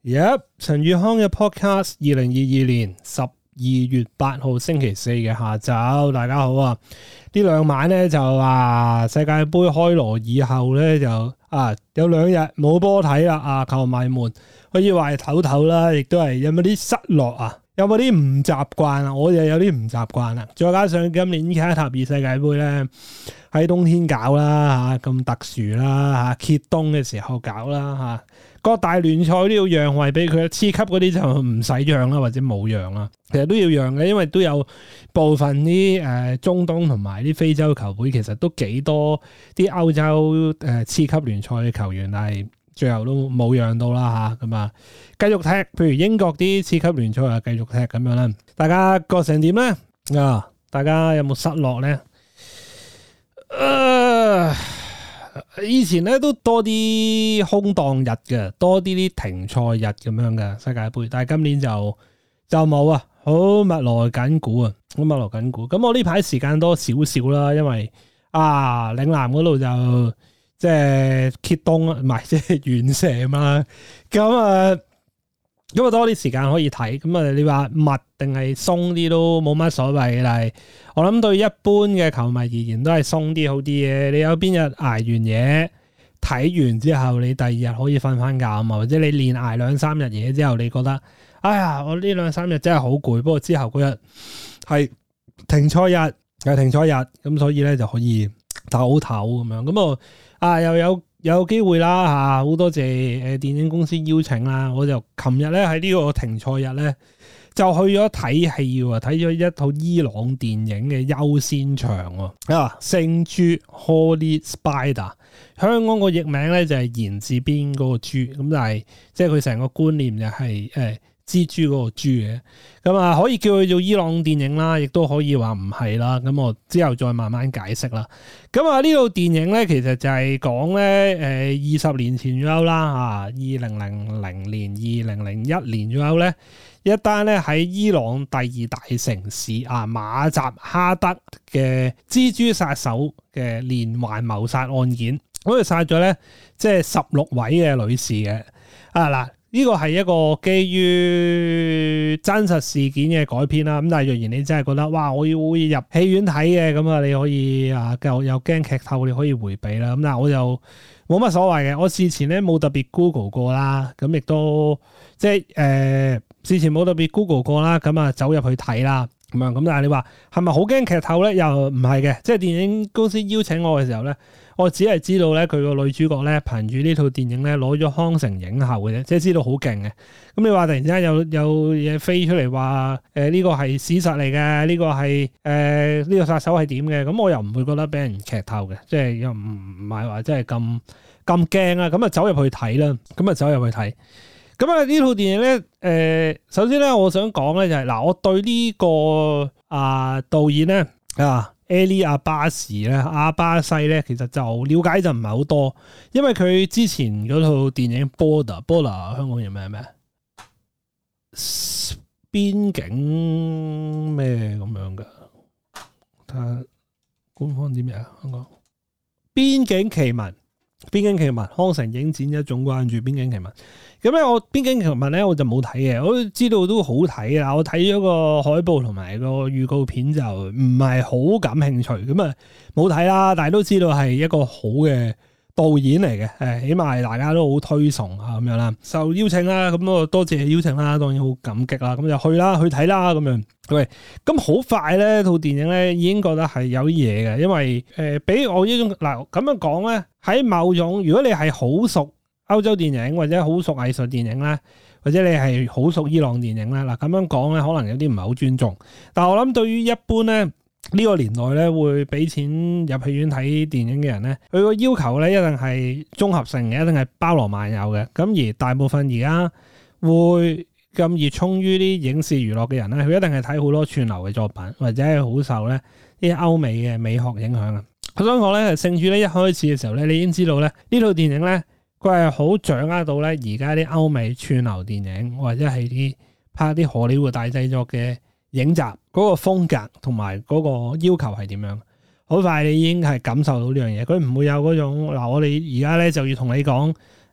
陳宇康嘅 podcast， 2022年12月8號星期四嘅下晝，大家好啊！呢兩晚咧就世界盃開鑼以後咧就有2日冇波睇啦，球迷們可以話係唞唞啦，亦都係有冇啲失落啊？有冇啲唔習慣啊？我就有啲唔習慣啦。再加上今年卡塔爾世界盃咧喺冬天搞啦咁特殊啦揭冬嘅時候搞啦各大聯賽都要讓位俾佢，次級嗰啲就唔使讓啦，或者冇讓啦。其實都要讓嘅，因為都有部分啲中東同埋啲非洲球會，其實都幾多啲歐洲次級聯賽嘅球員，但係最後都冇讓到啦咁繼續踢。譬如英國啲次級聯賽繼續踢咁樣啦。大家覺成點咧？大家有冇失落咧？以前咧都多啲空檔日嘅，多啲停賽日咁樣嘅世界盃，但係今年就冇啊，好密鑼緊鼓啊，好密鑼緊鼓。咁我呢排時間多少少啦，因為嶺南嗰度就即係揭冬啊，唔係即係完射嘛，咁多啲時間可以睇。咁你話密定係鬆啲都冇乜所謂嘅，但係我諗對一般嘅球迷而言都係鬆啲好啲嘅。你有邊日捱完嘢睇完之後，你第二日可以瞓翻覺啊嘛，或者你連捱2-3日嘢之後，你覺得我呢2-3日真係好攰，不過之後嗰日係停賽日，咁所以咧就可以唞唞咁樣。咁又有機會啦好多謝電影公司邀請啦。我就琴日咧喺呢個停賽日咧就去咗睇戲喎，睇咗一套伊朗電影嘅優先場聖豬 Holy Spider， 香港個譯名咧就係言字邊嗰個豬，咁但係即係佢成個觀念就係蜘蛛嗰個豬嘅，咁可以叫佢做伊朗電影啦，亦都可以話唔係啦。咁我之後再慢慢解釋啦。咁呢套電影咧，其實就係講咧20年前左右啦2000年、2001年左右咧，一單咧喺伊朗第2大城市馬扎哈德嘅蜘蛛殺手嘅連環謀殺案件，咁佢殺咗咧即係16位嘅女士嘅呢個係一個基於真實事件嘅改編啦。咁但係若然你真係覺得我要入戲院睇嘅，咁你可以又驚劇透，你可以回避啦。咁但係我就冇乜所謂嘅。我事前咧冇特別 Google 過啦，咁亦都即係事前冇特別 Google 過啦，咁走入去睇啦。咁但係你話係咪好驚劇透咧？又唔係嘅。即係電影公司邀請我嘅時候咧，我只係知道咧佢個女主角咧憑住呢套電影咧攞咗康城影后嘅啫，即係知道好勁嘅。咁你話突然之間有嘢飛出嚟話呢個係史實嚟嘅，呢個係呢個殺手係點嘅？咁我又唔會覺得俾人劇透嘅，即係又唔係話真係咁驚啊！咁走入去睇啦，咁呢套電影咧，首先咧我想講咧就係我對呢個導演咧Ali 阿巴士咧，阿巴西咧，其實就了解就唔係好多，因為佢之前嗰套電影 Border 香港叫咩邊境咩咁樣噶？睇下官方啲咩香港邊境奇聞，康城影展一種關注邊境奇聞。咁咧我邊境奇聞咧我就冇睇嘅，我都知道都好睇啦。我睇咗個海報同埋個預告片就唔係好感興趣，咁冇睇啦。但係都知道係一個好嘅導演嚟嘅，起碼大家都好推崇咁樣啦。受邀請啦，咁我多謝邀請啦，當然好感激啦。咁就去睇啦咁樣。喂，咁好快咧套電影咧已經覺得係有啲嘢嘅，因為俾我呢種咁樣講咧，喺某種如果你係好熟歐洲電影或者好熟藝術電影咧，或者你係好熟伊朗電影咧，咁樣講咧可能有啲唔係好尊重。但係我諗對於一般咧呢個年代咧會俾錢入戲院睇電影嘅人咧，佢個要求咧一定係綜合性嘅，一定係包羅萬有嘅。咁而大部分而家會咁熱衷於啲影視娛樂嘅人咧，佢一定係睇好多串流嘅作品，或者係好受咧啲歐美嘅美學影響啊。我想講咧，聖豬咧一開始嘅時候咧，你已經知道咧呢套電影咧，佢係好掌握到咧而家啲歐美串流電影或者係拍啲荷里活大製作嘅影集嗰個風格同埋嗰個要求係點樣。好快你已經係感受到呢樣嘢，佢唔會有嗰種我哋而家咧就要同你講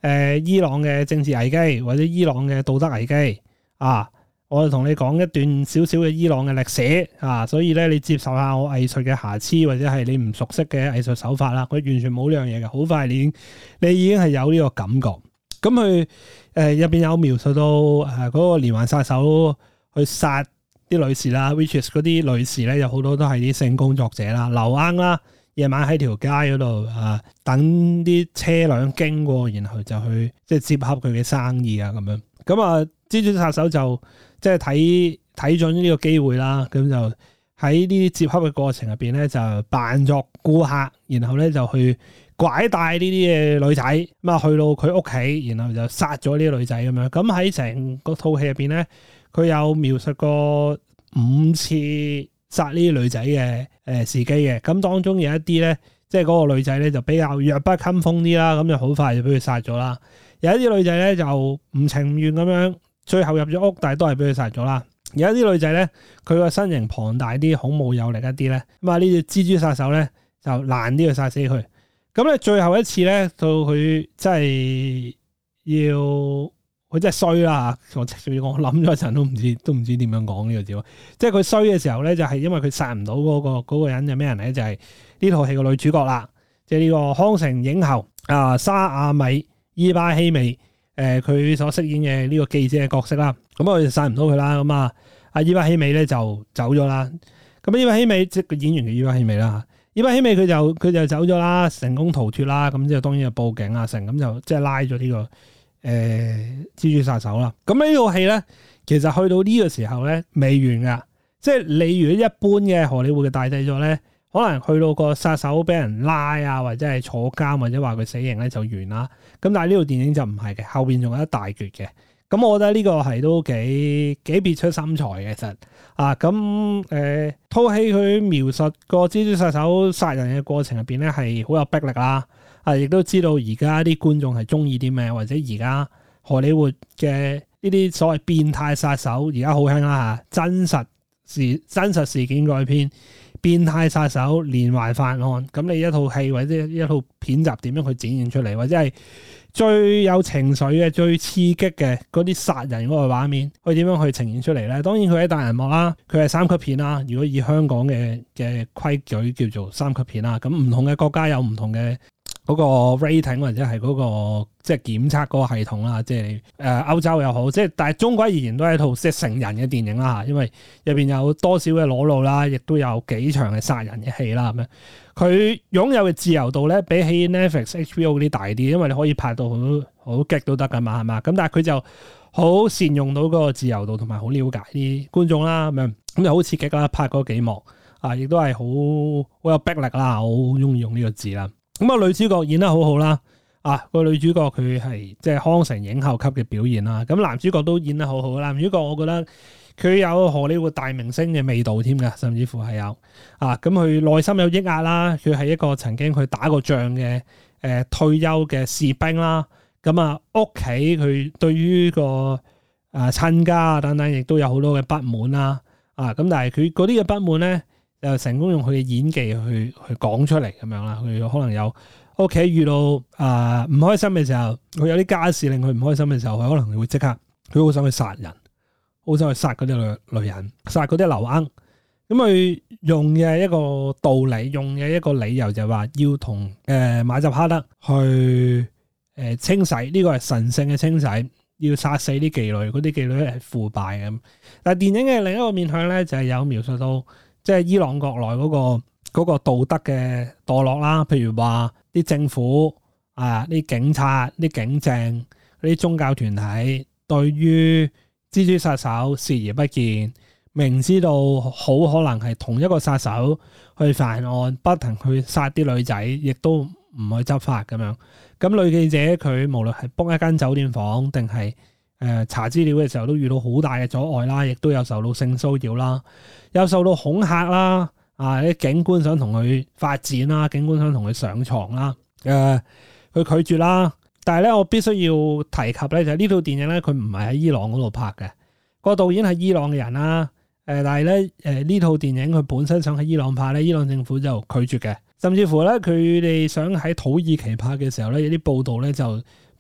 伊朗嘅政治危機或者伊朗嘅道德危機啊。我就同你講一段少少嘅伊朗嘅歷史啊，所以咧你接受下我藝術嘅瑕疵或者係你唔熟悉嘅藝術手法啦，佢完全冇呢樣嘢嘅，好快你已經係有呢個感覺。咁佢入邊有描述到嗰個連環殺手去殺啲女士啦 which is 嗰啲女士咧有好多都係啲性工作者啦，留罌啦，夜晚喺條街嗰度等啲車輛經過，然後就去即係接洽佢嘅生意啊咁樣。咁啊，蜘蛛殺手就即係睇準呢個機會啦，咁就喺呢啲接洽嘅過程入邊咧，就扮作顧客，然後咧就去拐帶呢啲嘅女仔，咁啊去到佢屋企，然後就殺咗呢啲女仔咁樣。咁喺成個套戲入邊咧，佢有描述過5次殺呢啲女仔嘅時機嘅。咁當中有一啲咧，即係嗰個女仔咧就比較弱不禁風啲啦，咁就好快就俾佢殺咗啦。有一啲女仔咧就唔情願咁樣，最後入咗屋，但係都係俾佢殺咗啦。有一啲女仔咧，佢個身形龐大啲，孔武有力一啲咧，咁啊呢隻蜘蛛殺手咧就難啲去殺死佢。咁咧最後一次咧，到佢真係佢真係衰啦嚇！我諗咗一陣都唔知點樣講呢個字。即係佢衰嘅時候咧，就係因為佢殺唔到嗰個人係咩人咧？就係呢套戲嘅女主角啦，即係呢個康城影后沙亞米伊巴希美。佢所飾演嘅呢個記者嘅角色啦，咁我就殺唔到佢啦。咁阿伊巴希美咧就走咗啦。咁伊巴希美即係個演員嘅伊巴希美啦。伊巴希美佢就走咗啦，成功逃脫啦。咁之後當然就報警啊，咁就即係拉咗呢個蜘蛛殺手啦。咁呢套戲咧，其實去到呢個時候咧未完噶。即係你如果一般嘅荷里活嘅大製作咧，可能去到個殺手俾人拉啊，或者係坐監，或者話佢死刑咧就完啦。咁但係呢套電影就唔係嘅，後邊仲有一大橛嘅。咁我覺得呢個係都幾別出心裁嘅，其實咁套戲佢描述個蜘蛛殺手殺人嘅過程入邊咧係好有逼力啦。亦都知道而家啲觀眾係中意啲咩，或者而家荷里活嘅呢啲所謂變態殺手而家好興啦嚇，真實事件改編。變態殺手連環犯案，咁你一套戲或者一套片集點樣去展現出嚟，或者係最有情緒嘅、最刺激嘅嗰啲殺人嗰個畫面，佢點樣去呈現出嚟咧？當然佢喺大銀幕啦，佢係3級片啦。如果以香港嘅規矩叫做3級片啦，咁唔同嘅國家有唔同嘅嗰個 rating 或者係嗰個即係檢測嗰個系統啦，即係歐洲又好，即係但係中國而言都係一套即係成人嘅電影啦，因為入邊有多少嘅裸露啦，亦都有幾場嘅殺人嘅戲啦咁樣。佢擁有嘅自由度咧，比起 Netflix、HBO 嗰啲大啲，因為你可以拍到好激都得噶嘛，係嘛？咁但係佢就好善用到嗰個自由度，同埋好了解啲觀眾啦咁樣，咁就好刺激啦，拍嗰幾幕亦都係好有逼力啦，我好中意用呢個字啦。咁女主角演得好好啦，個女主角佢係即係康城影后級嘅表現啦。咁男主角都演得好好，男主角我覺得佢有荷里活大明星嘅味道添㗎，甚至乎係有咁佢內心有抑壓啦，佢係一個曾經去打過仗嘅退休嘅士兵啦。咁屋企佢對於個親家等等，亦都有好多嘅不滿啦。咁但係佢嗰啲嘅不滿咧，就成功用佢嘅演技去講出嚟咁樣啦。佢可能有屋企遇到唔開心嘅時候，佢有啲家事令佢唔開心嘅時候，佢可能會即刻佢好想去殺人，好想去殺嗰啲女人，殺嗰啲流鶯。咁佢用嘅一個道理，用嘅一個理由就係話要同馬扎哈德去清洗，呢個係神聖嘅清洗，要殺死啲妓女，嗰啲妓女係腐敗嘅。但係電影嘅另一個面向咧，就係有描述到。即係伊朗國內嗰個道德嘅墮落啦，譬如話啲政府啲警察、啲警政、啲宗教團體對於蜘蛛殺手視而不見，明知道好可能係同一個殺手去犯案，不停去殺啲女仔，亦都唔去執法咁樣。咁女記者佢無論係 book 一間酒店房定係查資料嘅時候都遇到好大嘅阻礙啦，亦都有受到性騷擾啦，有受到恐嚇啦，啲警官想同佢發展啦，警官想同佢上床啦，佢拒絕啦。但係咧，我必須要提及咧，就係呢套電影咧，佢唔係喺伊朗嗰度拍嘅，個導演係伊朗嘅人啦。但係咧，呢套電影佢本身想喺伊朗拍咧，伊朗政府就拒絕嘅，甚至乎咧佢哋想喺土耳其拍嘅時候咧，有啲報道咧就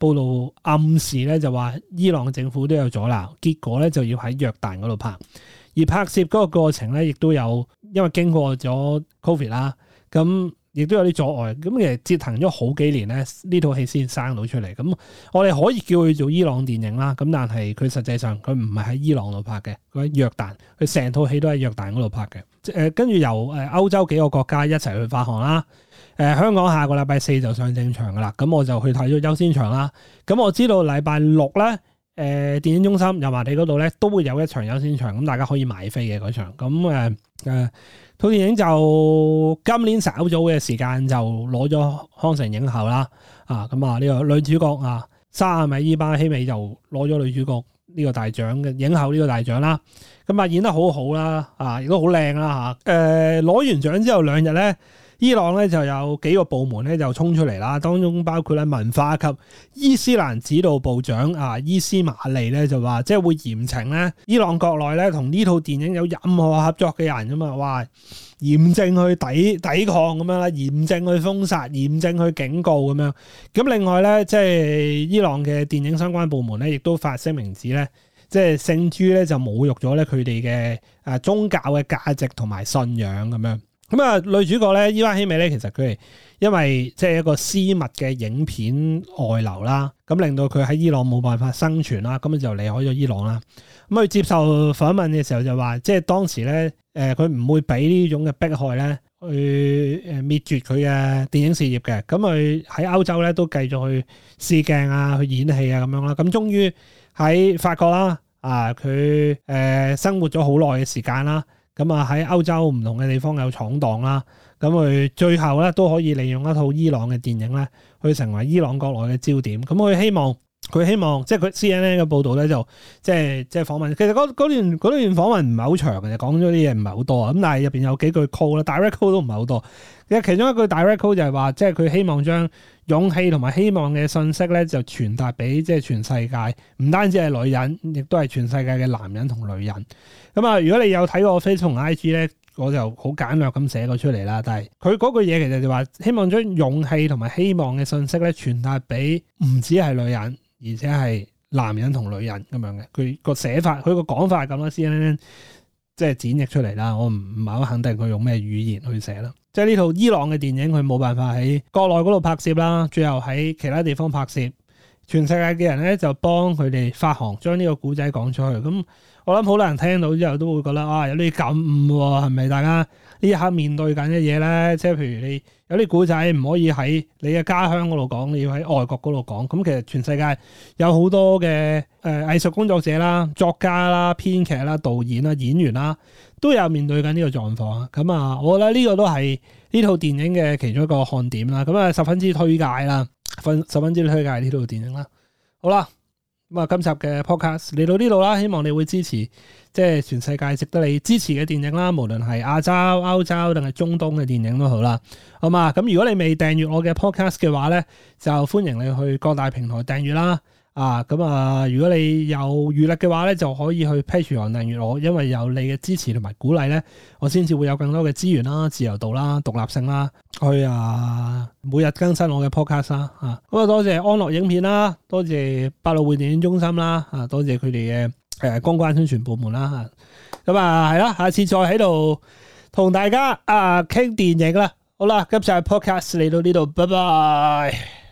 報道暗示咧就話伊朗政府都有阻撓，結果咧就要喺約旦嗰度拍，而拍攝嗰個過程咧亦都有因為經過咗 Covid 啦，咁亦都有啲阻礙，咁其實折騰咗好幾年咧，呢套戲先生到出嚟。咁我哋可以叫佢做伊朗電影啦，咁但係佢實際上佢唔係喺伊朗度拍嘅，佢喺約旦，佢成套戲都喺約旦嗰度拍嘅。跟住由歐洲幾個國家一齊去發行啦。香港下個禮拜4就上正場噶啦，咁我就去睇咗優先場啦。咁我知道禮拜6咧，電影中心油麻地嗰度咧都會有一場優先場，咁大家可以買飛嘅嗰場。咁套電影就今年稍早嘅時間就攞咗康城影后啦，咁呢個女主角沙米伊巴希美就攞咗女主角呢個大獎嘅影后呢個大獎啦，咁演得好好啦，亦都好靚啦嚇。攞完獎之後2日咧，伊朗咧就有幾個部門咧就衝出嚟啦，當中包括咧文化及伊斯蘭指導部長伊斯馬利咧就話，即係會嚴懲咧伊朗國內咧同呢套電影有任何合作嘅人㗎嘛，哇！嚴正去抵抗咁樣啦，嚴正去封殺，嚴正去警告咁樣。咁另外咧，即係伊朗嘅電影相關部門咧，亦都發聲明指咧，即係聖豬咧就侮辱咗咧佢哋嘅宗教嘅價值同埋信仰咁樣。咁女主角咧伊巴希美咧，其實佢係因為即係一個私密嘅影片外流啦，咁令到佢喺伊朗冇辦法生存啦，咁就離開咗伊朗啦。咁佢接受訪問嘅時候就話，即係當時咧，佢唔會俾呢種嘅迫害咧去滅絕佢嘅電影事業嘅。咁佢喺歐洲咧都繼續去試鏡去演戲咁樣啦。咁終於喺法國啦，佢生活咗好耐嘅時間啦。咁喺歐洲唔同嘅地方有闖蕩啦。咁佢最後咧都可以利用一套伊朗嘅電影咧，去成為伊朗國內嘅焦點。咁佢希望即係佢 CNN 嘅報導咧，就即係訪問。其實嗰段訪問唔係好長嘅，講咗啲嘢唔係好多啊。咁但係入邊有幾句 call 啦，direct call 都唔係好多。其實其中一句 direct call 就係話，即係佢希望將勇氣同埋希望嘅信息咧，就傳達俾即係全世界，唔單止係女人，亦都係全世界嘅男人同女人。咁如果你有睇過 Facebook 同 IG 咧，我就好簡略咁寫過出嚟啦。但係佢嗰句嘢其實就話，希望將勇氣同埋希望嘅信息咧，傳達俾唔止係女人，而且係男人同女人咁樣嘅。佢個寫法，佢個講法係咁啦。CNN 即係剪譯出嚟啦。我唔係好肯定佢用咩語言去寫啦。即係呢套伊朗嘅電影，佢冇辦法喺國內嗰度拍攝啦，最後喺其他地方拍攝。全世界嘅人咧就幫佢哋發行，將呢個古仔講出去。咁我諗好多人聽到之後都會覺得有啲感悟喎，係咪大家呢一刻面對緊嘅嘢咧？即係譬如你有啲古仔唔可以喺你嘅家鄉嗰度講，你要喺外國嗰度講。咁其實全世界有好多嘅藝術工作者啦、作家啦、編劇啦、導演啦、演員啦，都有面對緊呢個狀況。咁我覺得呢個都係呢套電影嘅其中一個看點啦。咁十分之推介啦。十分之推介呢套電影啦。好啦，咁今集嘅 podcast 嚟到呢度啦，希望你會支持即係全世界值得你支持嘅電影啦，無論係亞洲、歐洲定係中東嘅電影都好啦。好嘛，咁如果你未訂閱我嘅 podcast 嘅話咧，就歡迎你去各大平台訂閱啦。如果你有餘力嘅話咧，就可以去 Patreon 訂閱我，因為有你嘅支持同埋鼓勵咧，我先至會有更多嘅資源啦、自由度啦、獨立性啦，去每日更新我嘅 podcast 啦。咁多謝安樂影片啦，多謝百老匯電影中心啦，多謝佢哋嘅公關宣傳部門啦。咁係啦，下次再喺度同大家傾電影啦。好啦，今集 podcast 嚟到呢度，拜拜。